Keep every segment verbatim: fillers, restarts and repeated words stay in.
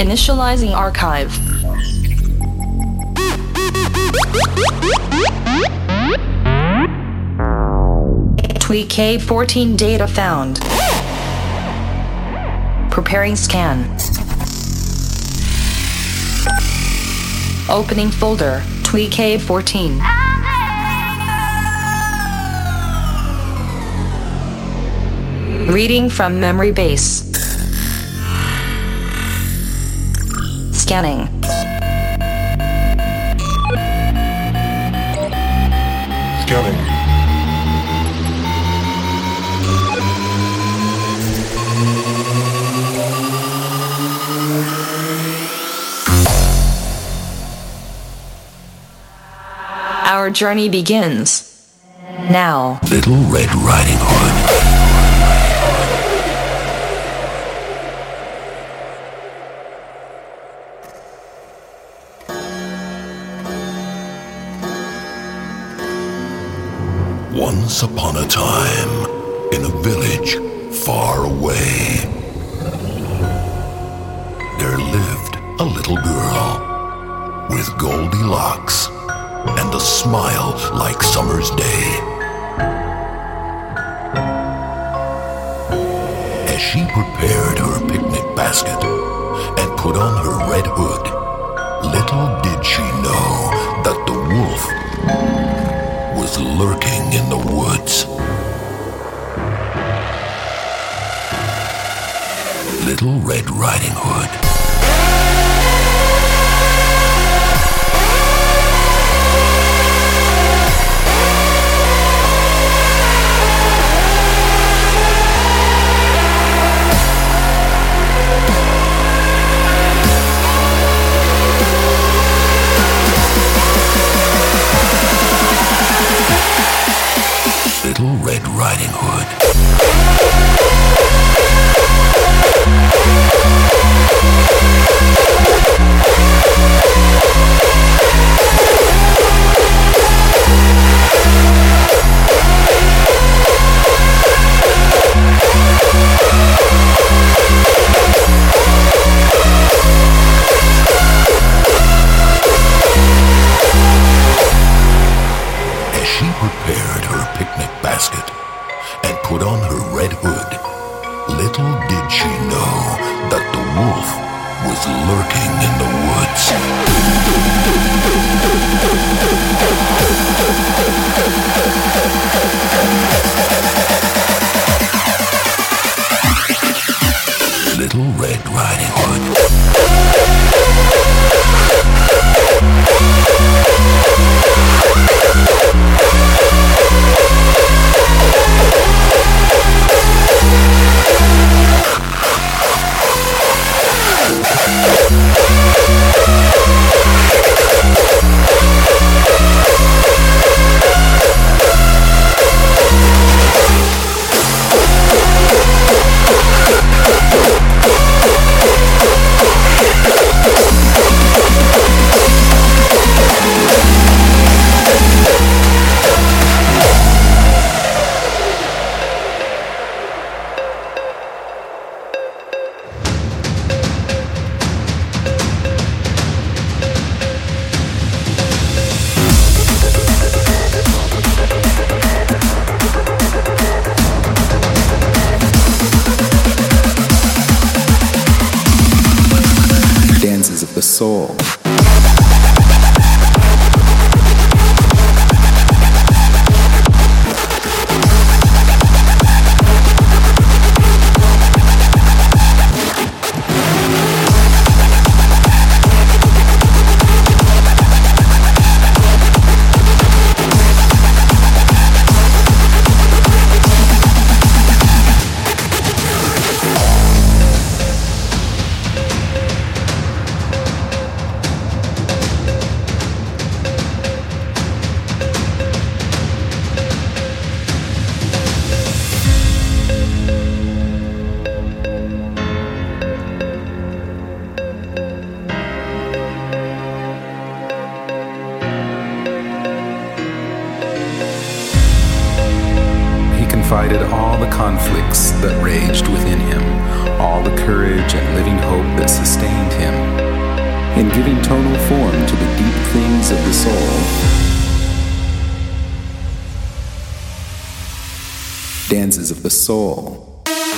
Initializing archive. Tweak K fourteen data found. Preparing scan. Opening folder. Tweak K fourteen. Reading from memory base. Scanning. Scanning. Our journey begins now. Little Red Riding Hood. Once upon a time, in a village far away, there lived a little girl with goldy locks and a smile like summer's day. As she prepared her picnic basket and put on her red hood, little did she know that the wolf was lurking in the woods. Little Red Riding Hood. Little Red Riding Hood. As she prepared her picnic basket and put on her red hood, little did she know that the wolf was lurking in the woods. Little Red Riding Hood. Soul. conflicts that raged within him, all the courage and living hope that sustained him, in giving tonal form to the deep things of the soul. Dances of the soul.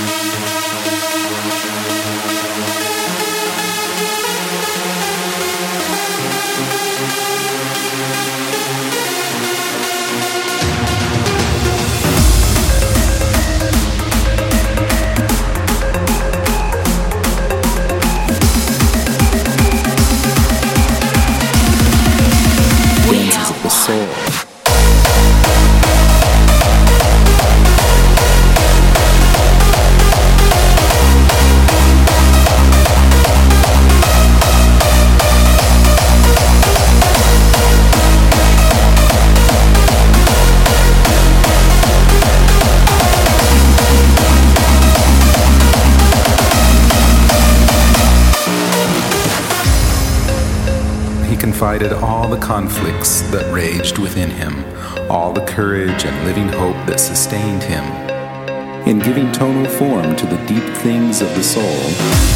Confided all the conflicts that raged within him, all the courage and living hope that sustained him, in giving tonal form to the deep things of the soul.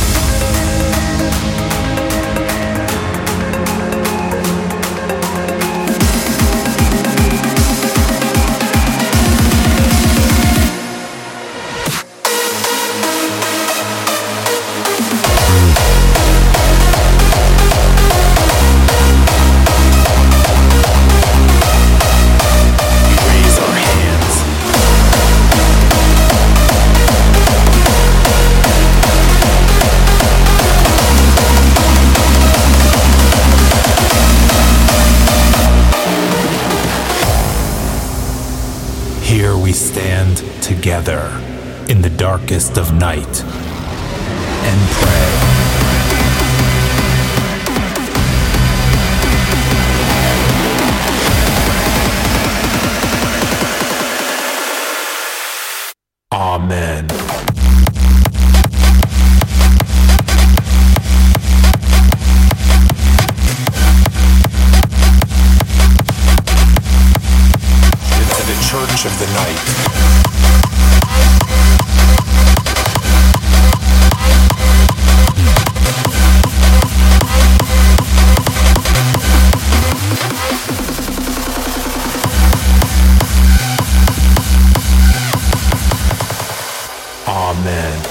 We stand together in the darkest of night and pray. Amen. Into the church of the night. Amen.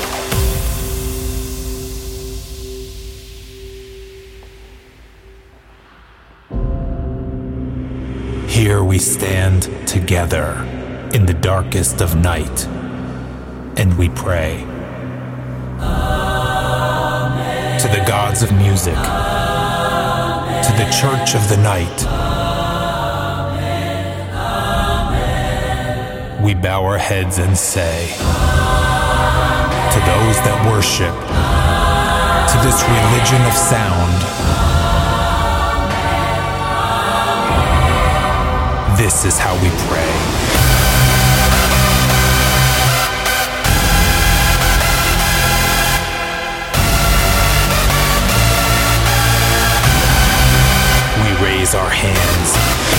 Here we stand together in the darkest of night, and we pray. Amen. To the gods of music, Amen. To the church of the night, Amen. Amen. We bow our heads and say, Amen. To those that worship, Amen. To this religion of sound, Amen. This is how we pray. Raise our hands.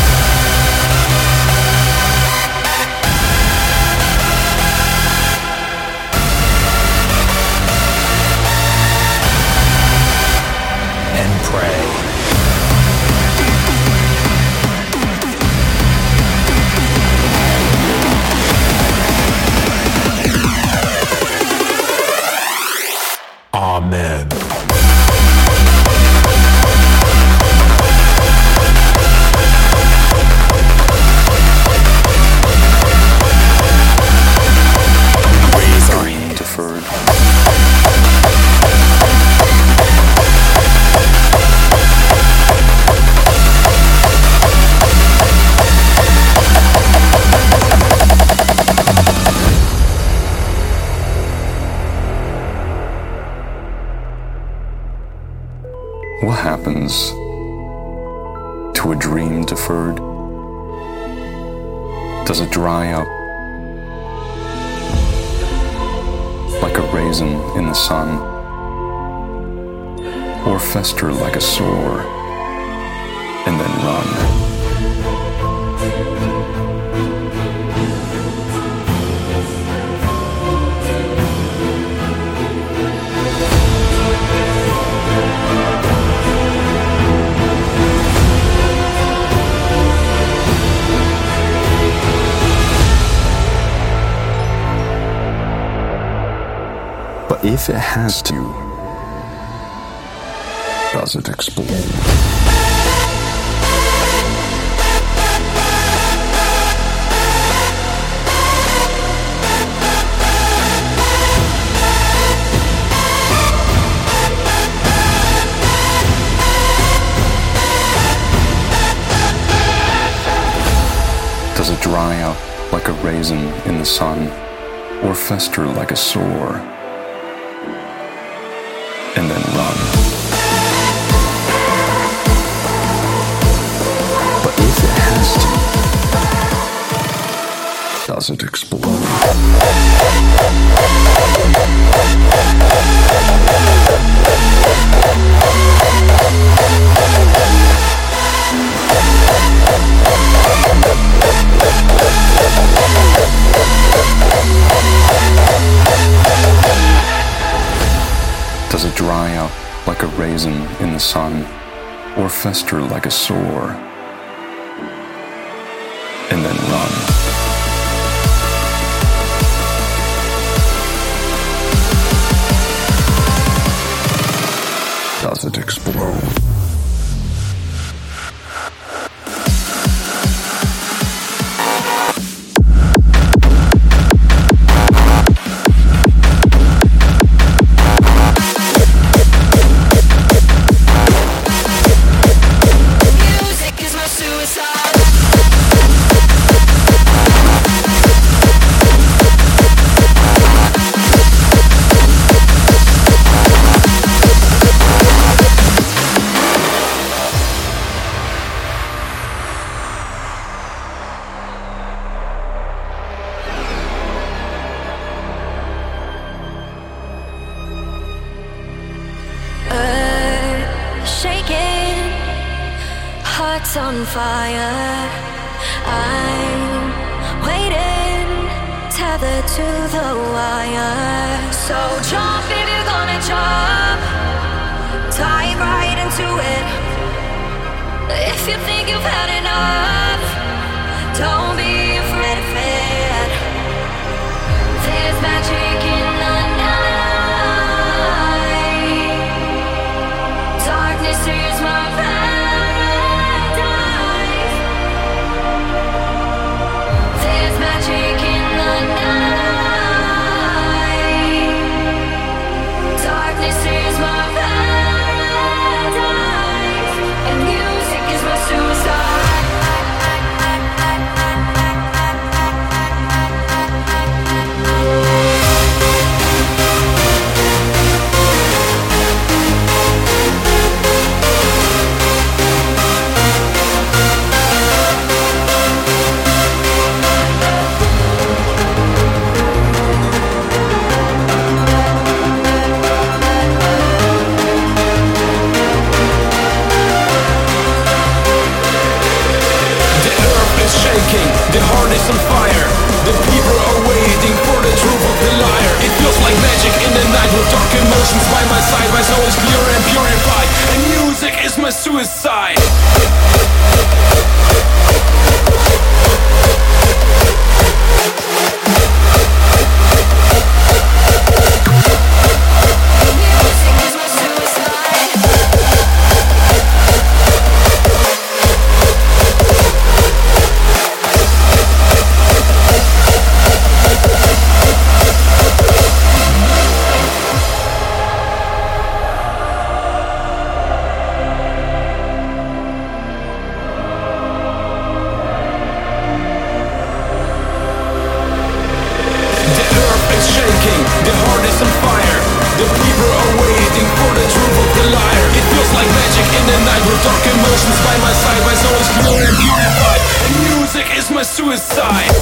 And pray. Amen. What happens to a dream deferred? Does it dry up like a raisin in the sun, or fester like a sore and then run? But if it has to, does it explode? Does it dry out like a raisin in the sun, or fester like a sore, and then run? But if it has to, does it explode? Does it dry out like a raisin in the sun, or fester like a sore, and then run? Does it explode? On fire, I'm waiting, tethered to the wire. So jump if you're gonna jump, dive right into it. If you think you've had enough, don't be afraid of it. There's magic in the night. Darkness is my path. The heart is on fire. The people are waiting for the truth of the liar. It feels like magic in the night with dark emotions by my side. My soul is clear and purified, and music is my suicide. Suicide.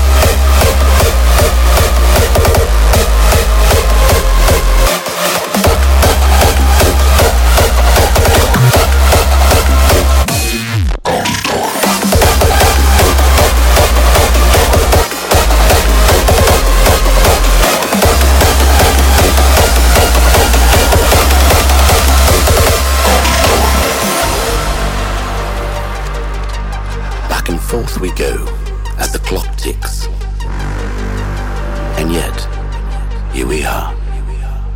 Forth we go as the clock ticks, and yet here we are,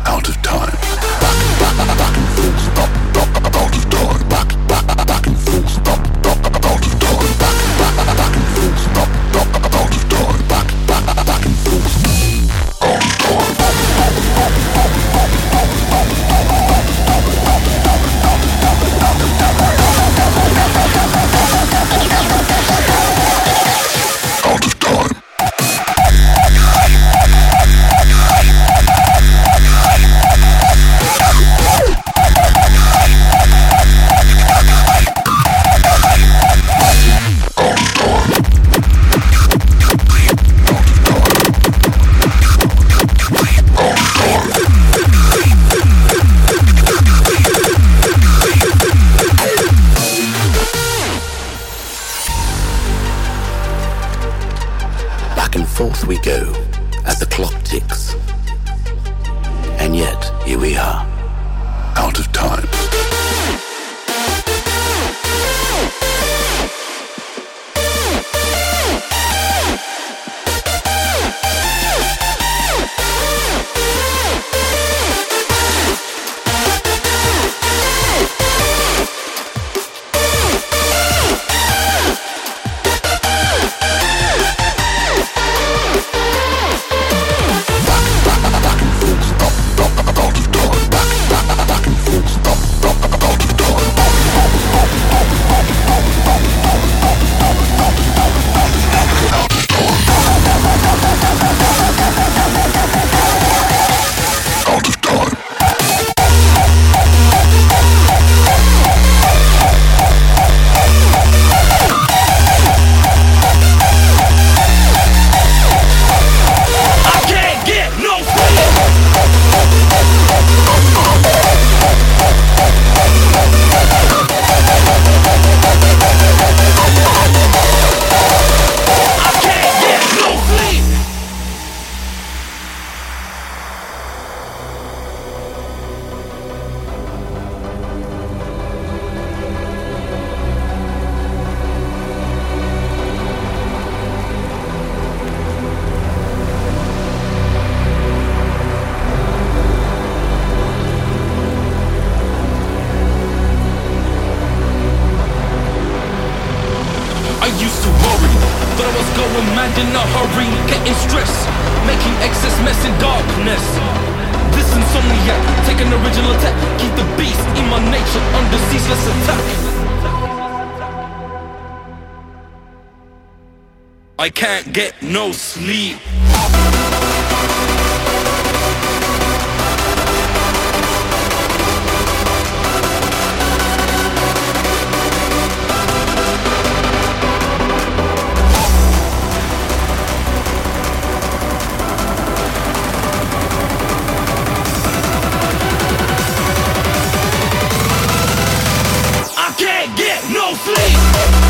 out of time. Back, back, back and forth, back, back, out of time. Back, back, back and forth, back, back, out of time. Back, back, back and forth, back, back, out of time. Back, back, back and forth, out of time. Out of time. Forth we go as the clock ticks. And yet, here we are, out of time. I can't get no sleep. I can't get no sleep.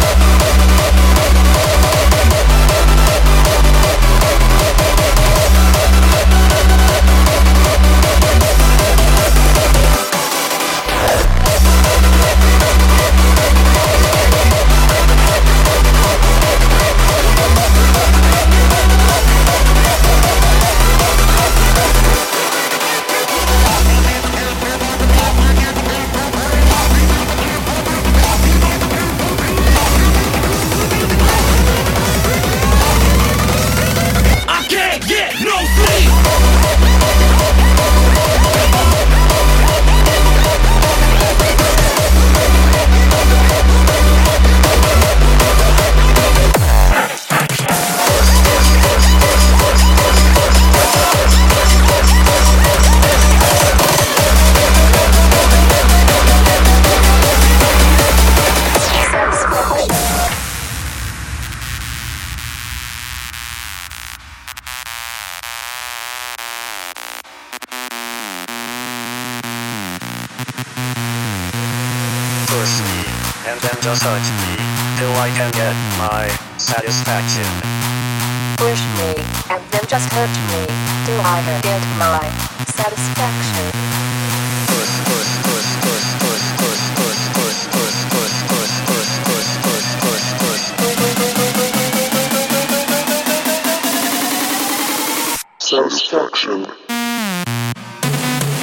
Push me, and then just hurt me, till I can get my satisfaction. Push me, and then just hurt me, till I can get my satisfaction. Push, push, push, push, push, push, push, push, push, push, push, push, push, push, push, push. Satisfaction.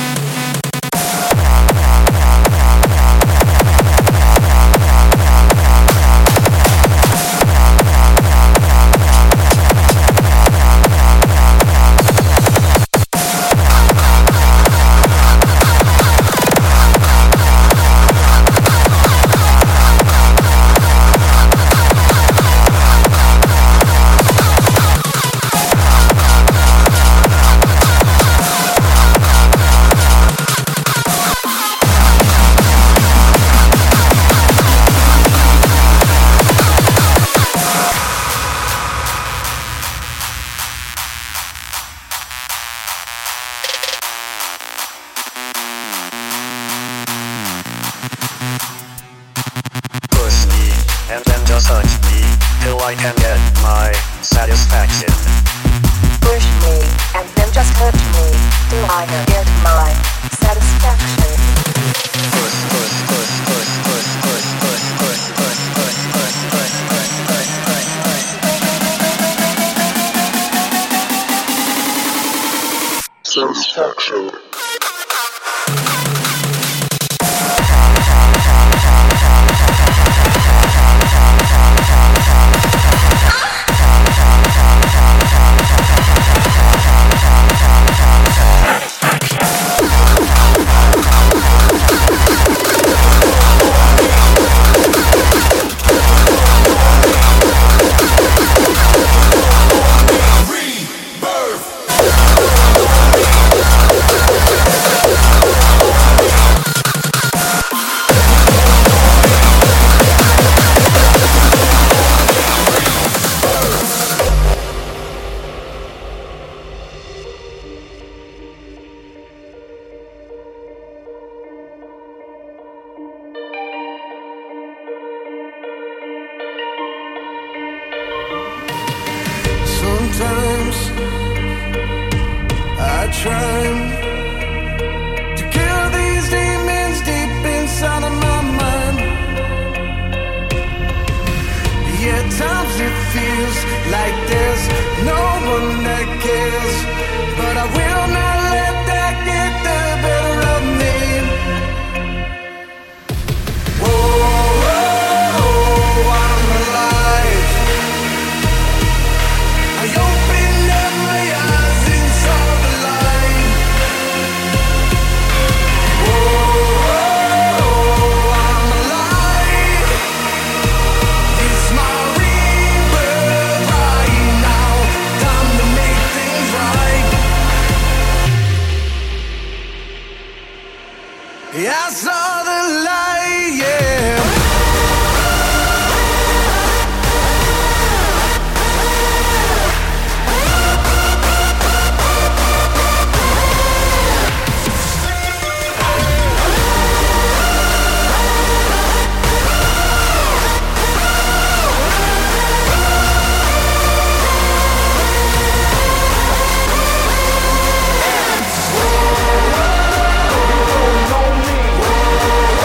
Satisfaction. Sometimes I try to kill these demons deep inside of my mind. Yet times it feels like there's no one that cares, but I will not let that get the better of me. Whoa, whoa, whoa, I'm alive. I opened up my eyes and saw the light. Whoa, I'm alive. It's my rebirth right now. Time to make things right. Yeah, I saw the light, yeah. Know me.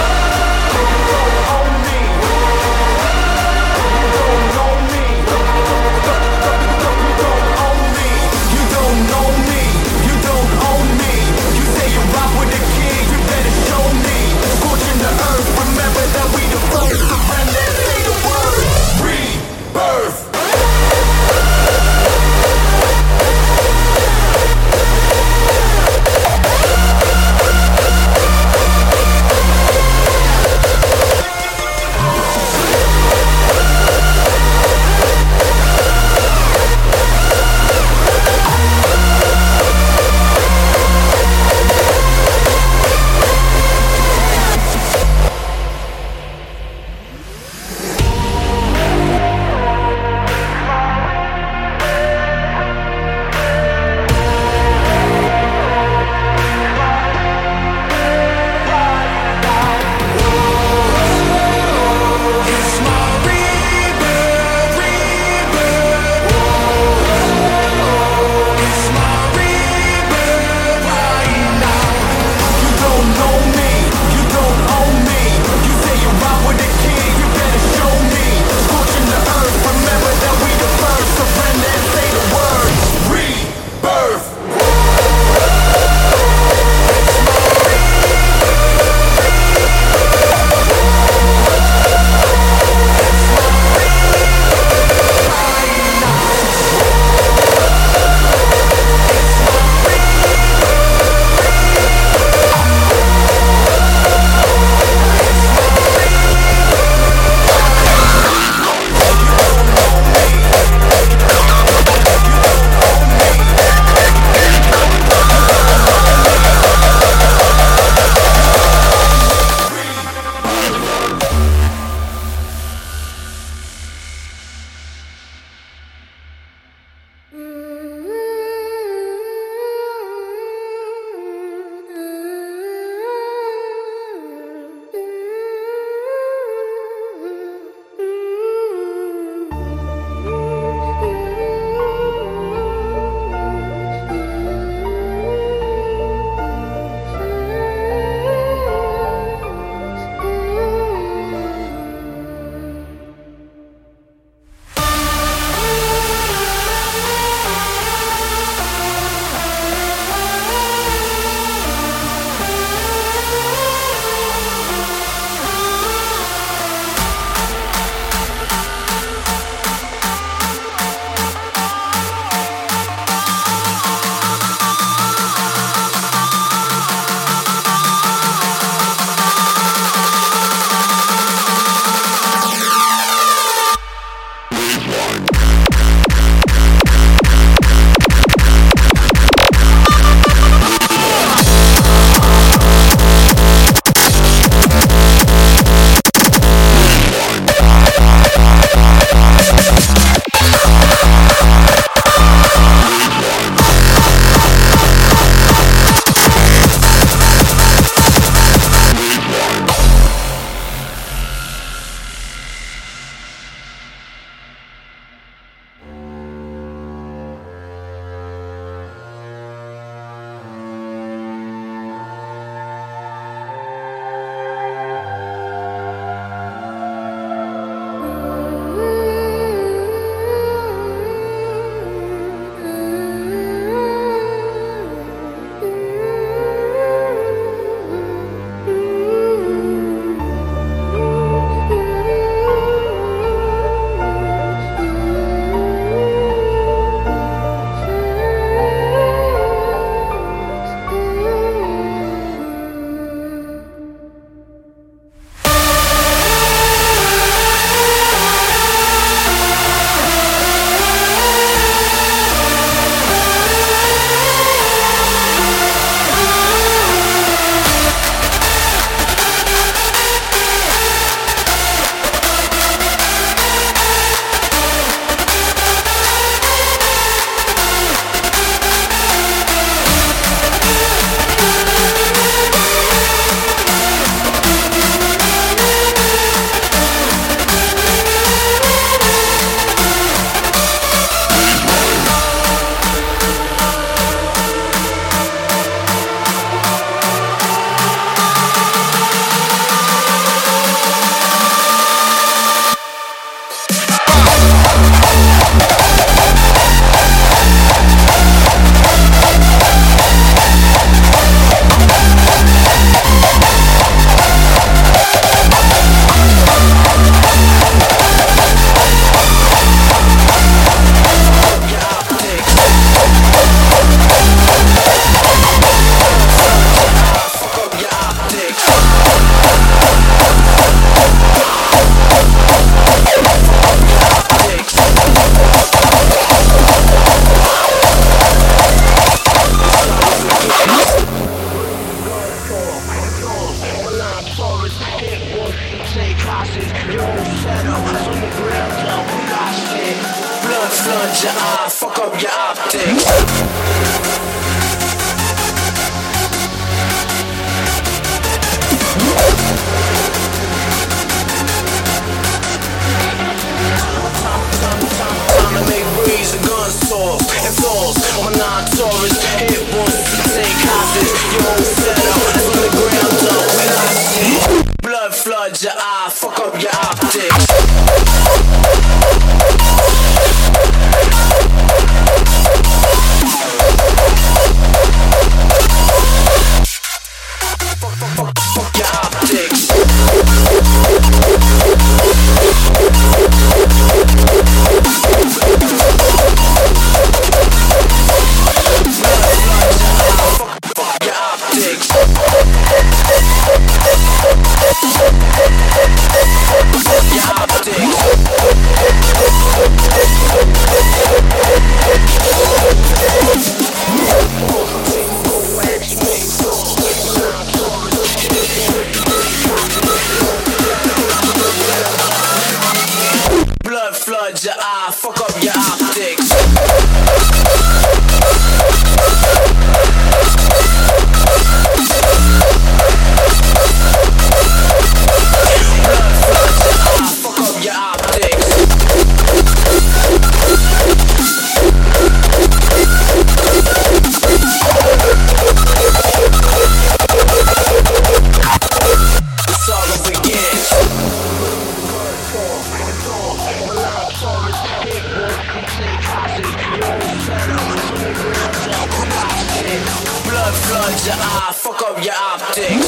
Blood floods your eye, fuck up your optics.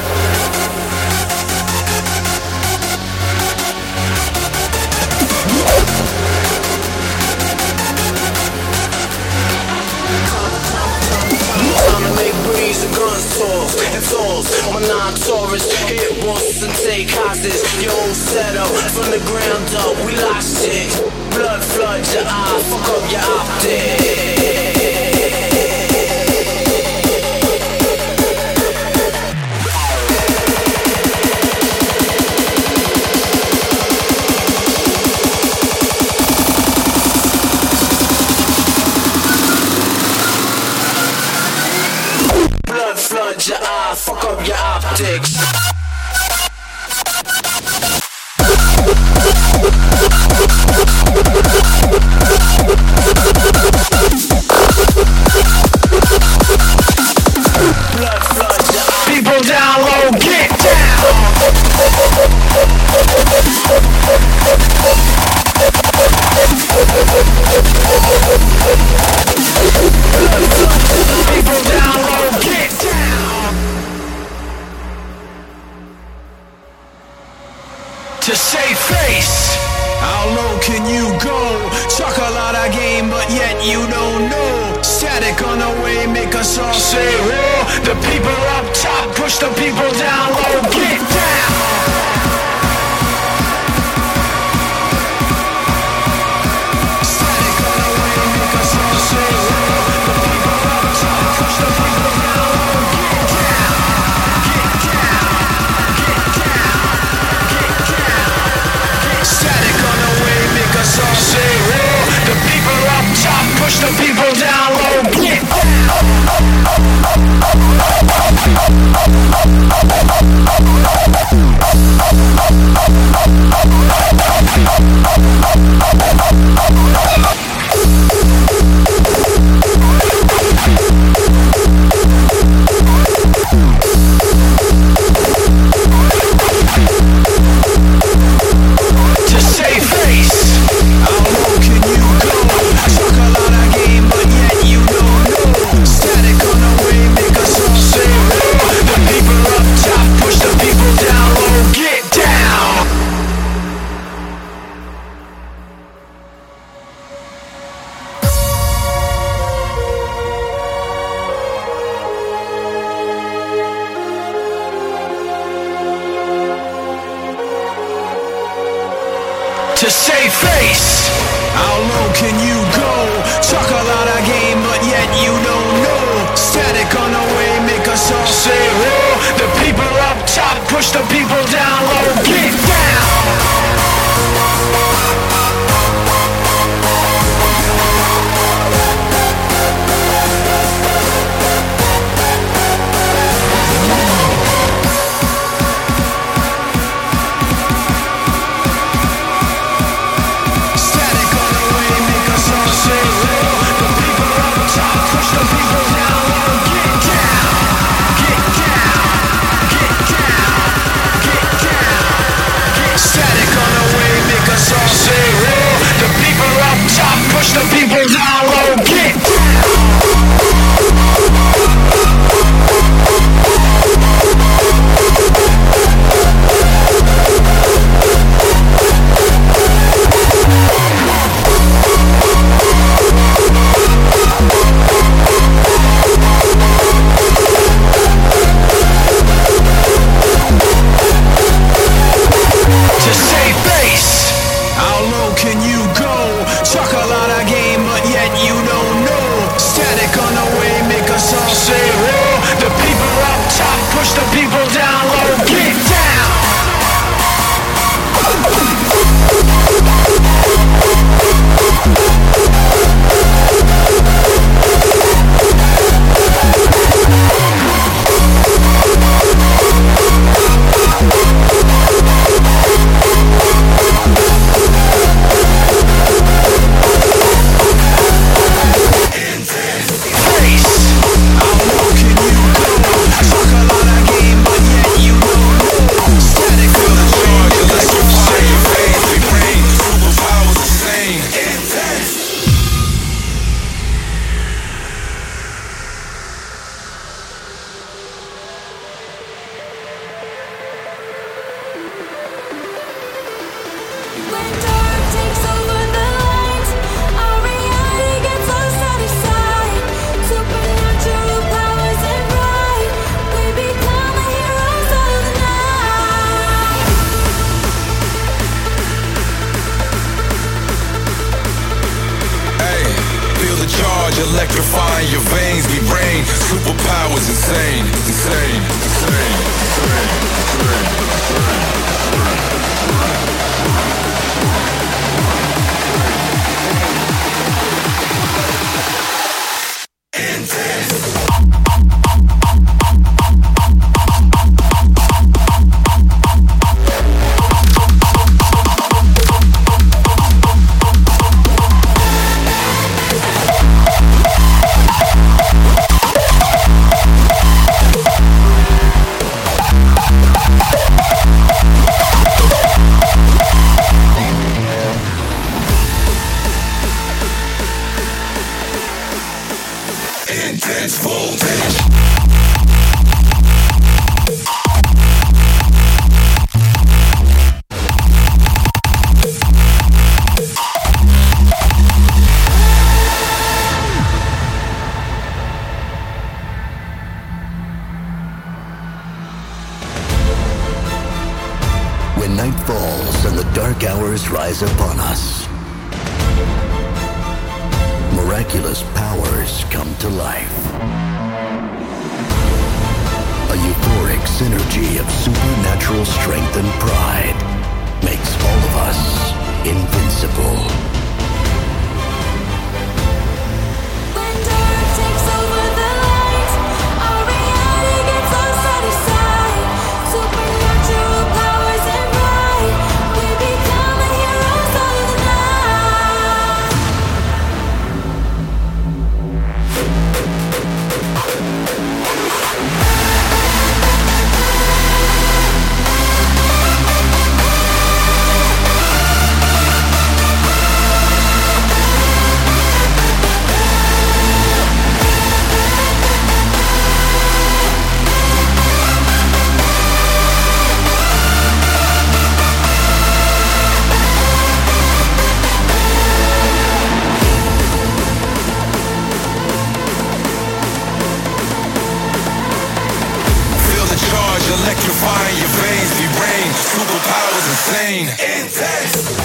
Time to make breeze and guns talk and falls. I'm a non-Taurus, hit bosses and take hostage. Your own setup from the ground up, we lost it. Blood floods your eye, fuck up your optics. Flood your eye, fuck up your optics. Blood flood your eye. People down low, get down. People down low, get down. To save face, how low can you go? Talk a lot of game, but yet you don't know. Static on the way, make us all say whoa. The people up top, push the people down low, get down. Static on the way, make us all say whoa. The people up top, push the people down low, get down. Get down, get down, get down. Static on the way, make us all say whoa. The people up top, push the people down low, get down. To save face, how low can you go? Talk a lot of game, but yet you don't know. Static on the way, make us all say whoa. The people up top, push the people down low, get down. To save face, how low can you go? Talk a lot of game, but yet you don't know. Static on the way, make us all say whoa. The people up top, push the people down low, get down. Static on the way, make us all say whoa. The people up top, push the people down low, get down. Get down, get down, get electrifying your veins. We reign, superpowers insane, insane, insane, insane, insane. Intense voltage. When night falls and the dark hours rise upon us, miraculous powers come to life. A euphoric synergy of supernatural strength and pride makes all of us invincible. When dark takes over the light, our reality gets all set aside. Supernatural powers and pride, we become the heroes of the night. Electrifying your veins, we reign, superpowers insane, intense.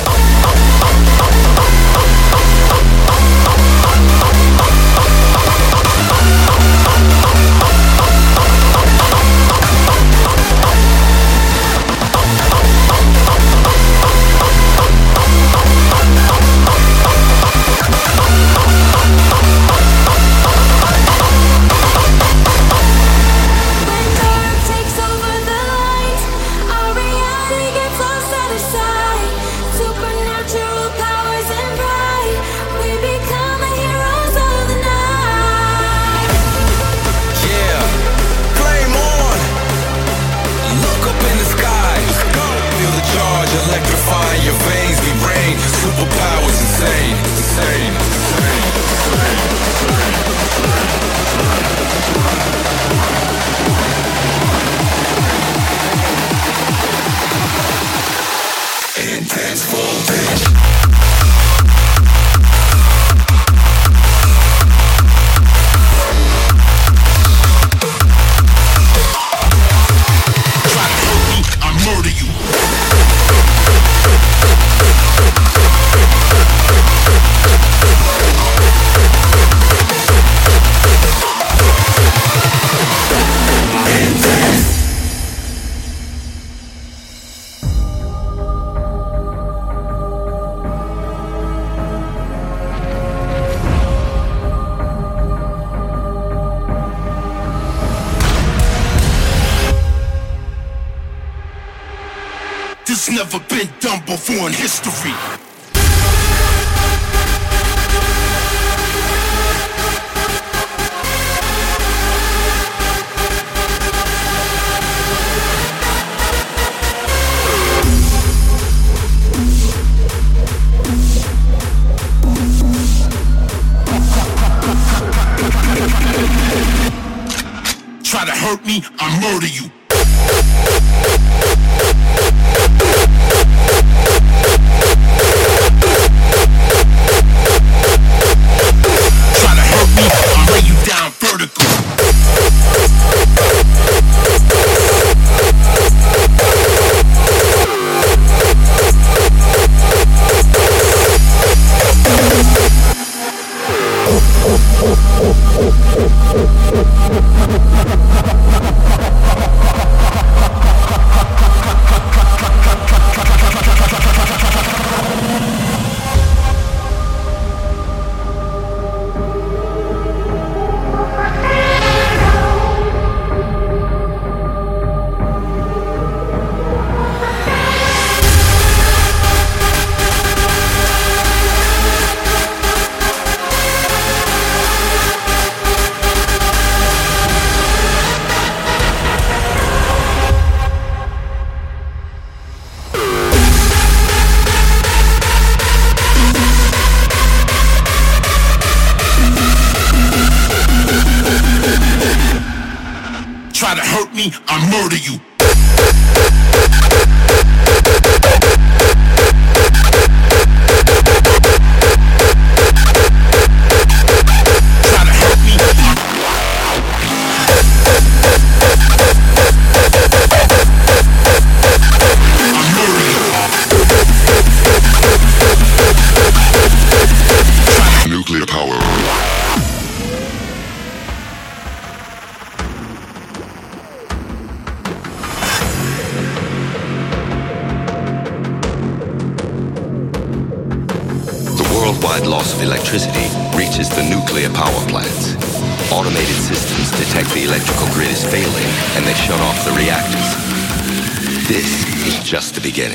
Electrifying your veins, we reign, superpowers insane, insane, insane, insane. Intense voltage. Try to hurt me, I murder you. This never been done before in history. Try to hurt me, I murder you. Try to hurt me, I'll lay you down vertical. Oh, oh, oh. try to hurt me, I murder you. Try to hurt me, I murder you. Nuclear power. Worldwide loss of electricity reaches the nuclear power plants. Automated systems detect the electrical grid is failing and they shut off the reactors. This is just the beginning.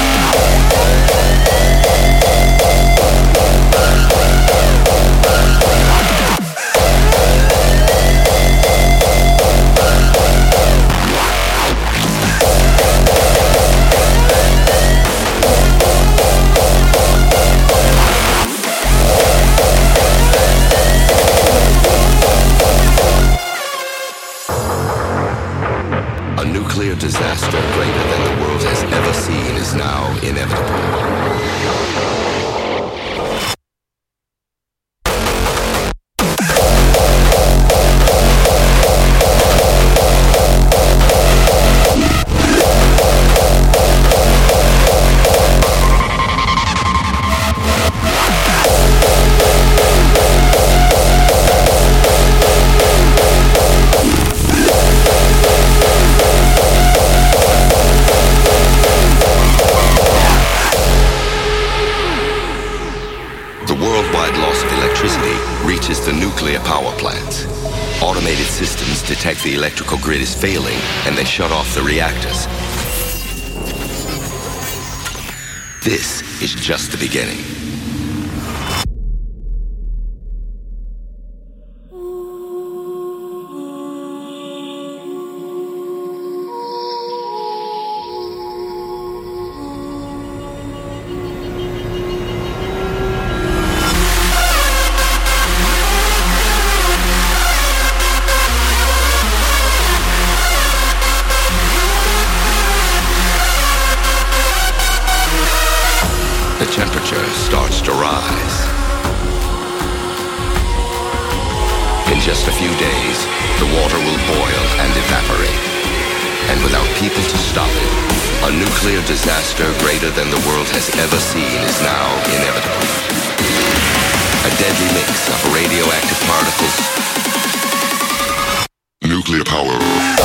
A nuclear disaster greater than the world has ever seen is now inevitable. Reaches the nuclear power plants. Automated systems detect the electrical grid is failing and they shut off the reactors. This is just the beginning. The temperature starts to rise. In just a few days, the water will boil and evaporate. And without people to stop it, a nuclear disaster greater than the world has ever seen is now inevitable. A deadly mix of radioactive particles. Nuclear power.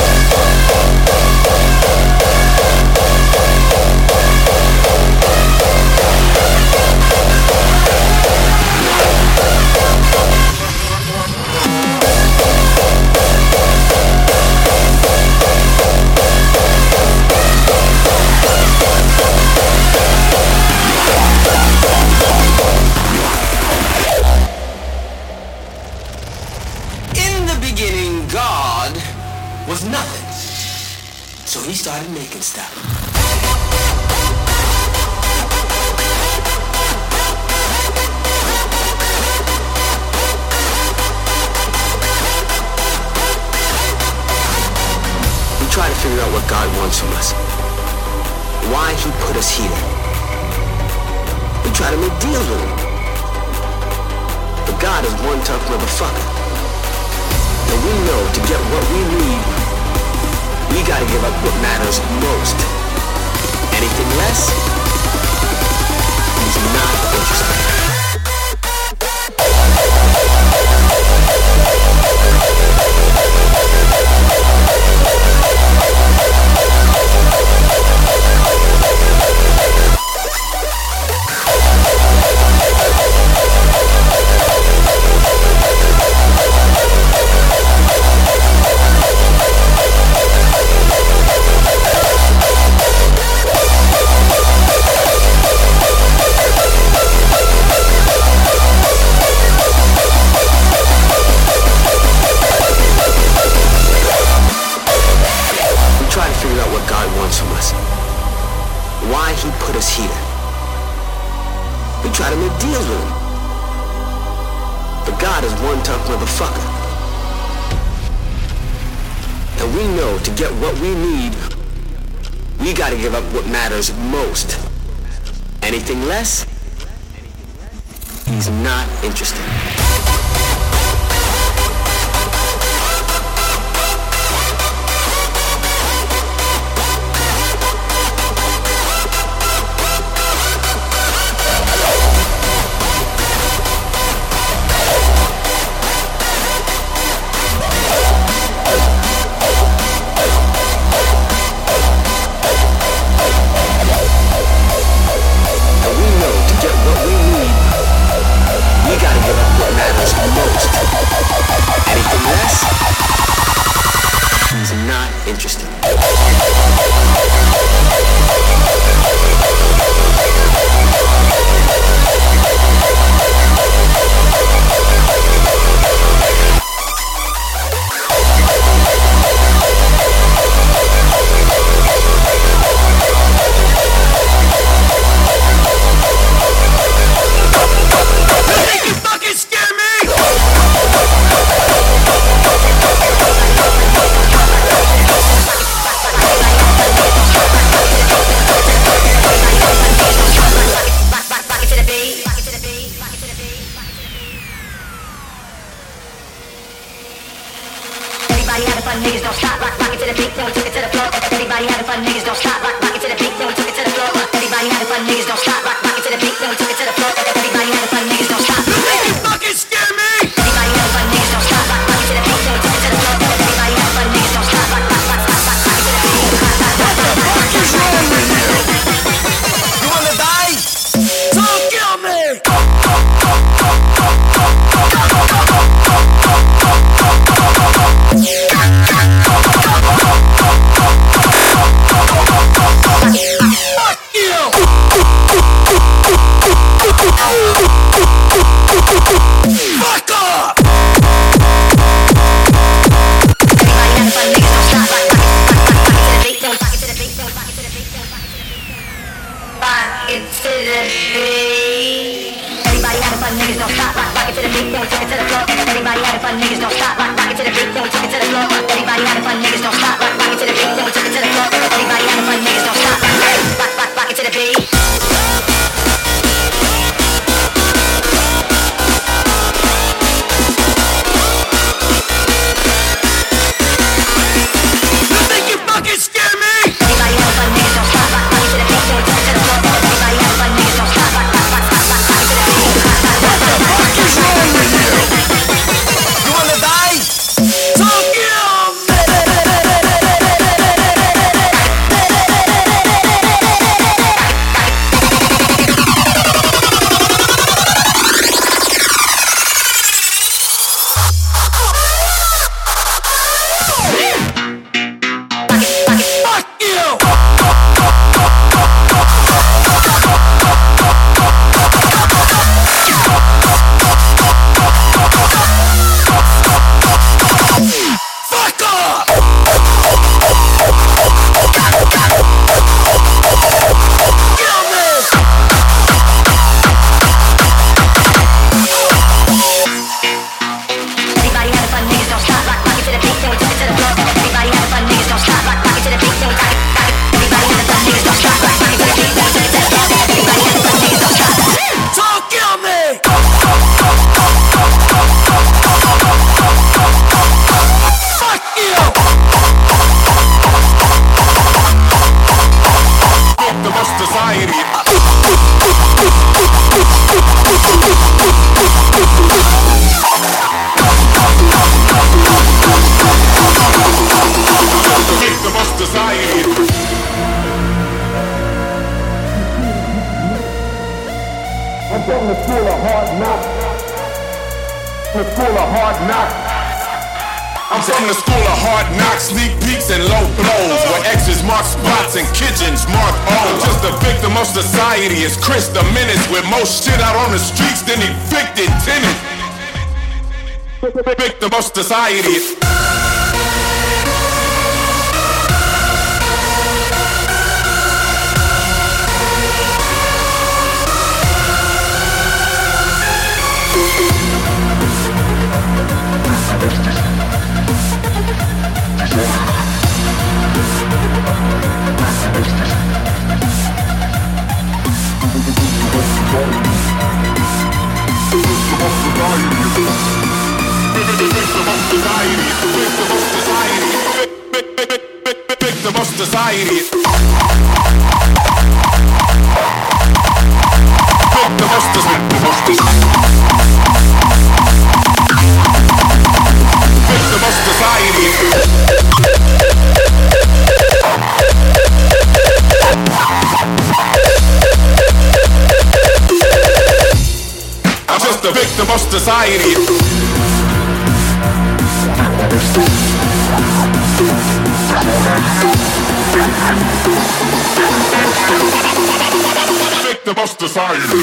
Was nothing. So he started making stuff. We try to figure out what God wants from us. Why he put us here. We try to make deals with him. But God is one tough motherfucker. And we know to get what we need, we gotta give up what matters most. Anything less is not interesting. Try to make deals with him. But God is one tough motherfucker. And And we know to get what we need, we gotta give up what matters most. Anything less, he's not interested. Victim of society. Desire. Victim of society. Victim of society. Victim of society. I'm just a victim of society. Victim of society.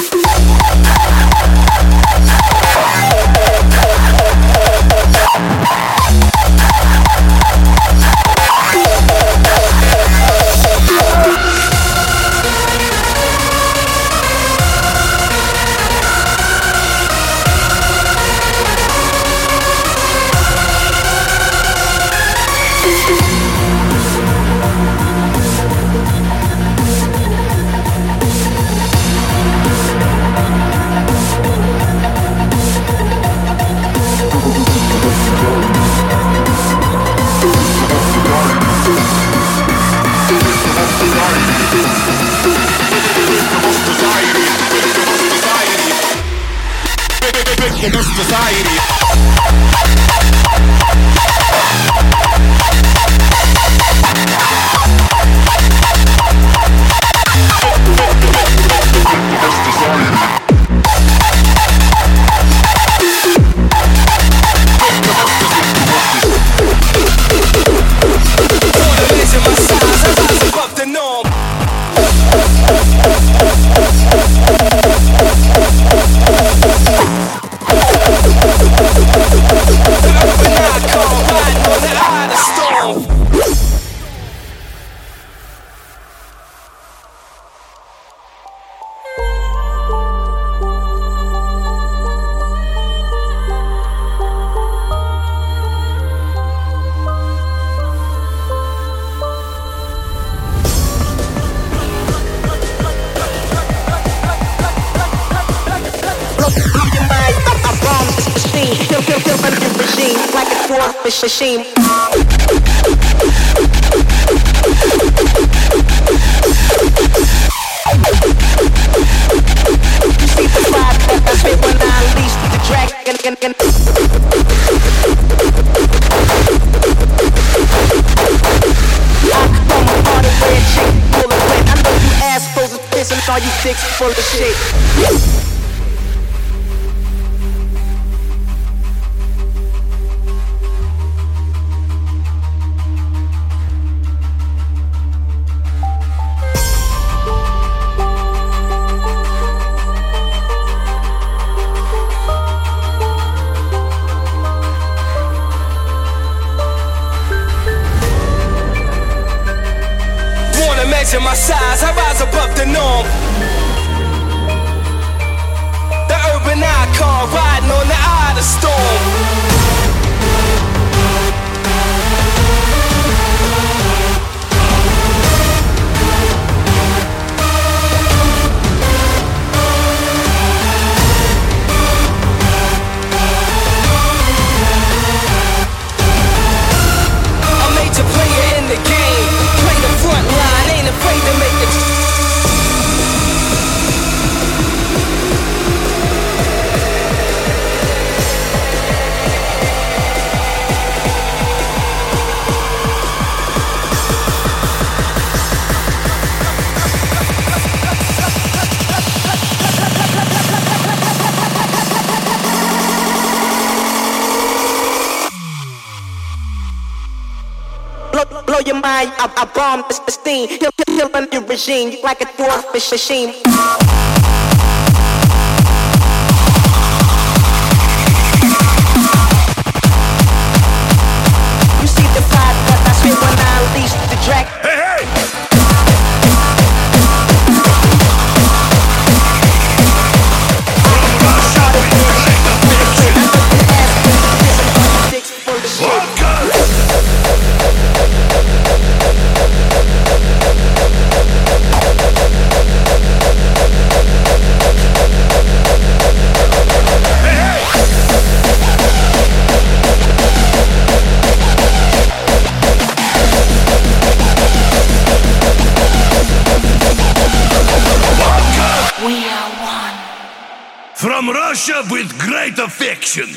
Victim of society. Machine. You see the vibe that I spit when I unleash the dragon. I come on a red chick full of wet. I know you assholes are pissing, all you dicks full of shit. Measure my size, I rise above the norm. The urban icon, riding on the eye of the storm. A major player in the game, play the front line, ain't afraid to make it. Blow, blow your mind, I, I bomb the steam. He'll kill on your regime like a dwarf machine. You see the vibe that I spit when I unleash the dragon. Hey, hey! From Russia with great affection.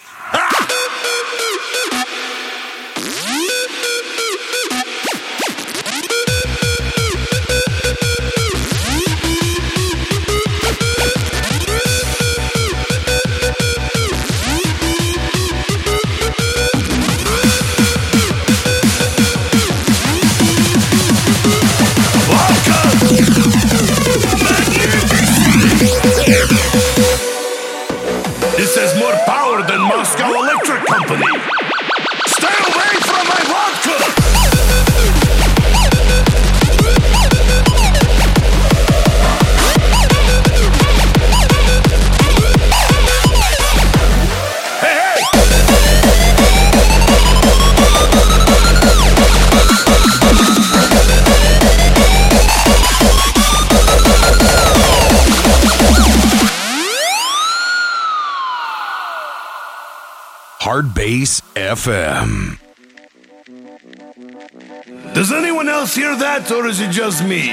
This has more power than Moscow Electric Company. Stay away from my vodka! Hey, hey! Hard Bass F M. Does anyone else hear that, or is it just me?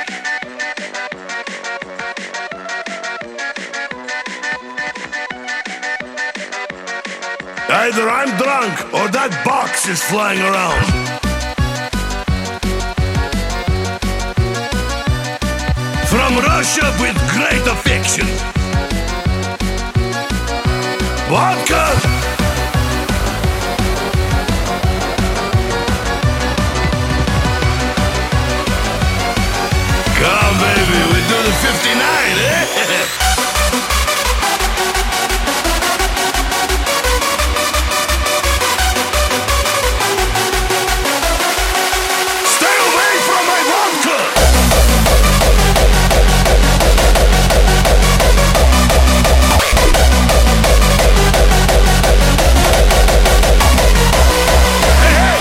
Either I'm drunk, or that box is flying around. From Russia with great affection. Vodka! Come, baby, we do the fifty-nine, eh? Stay away from my vodka! Hey, hey!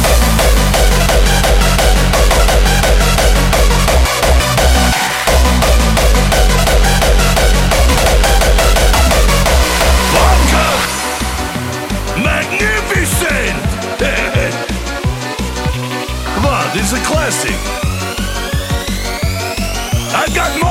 Magnificent! Come on, this is a classic. I've got more!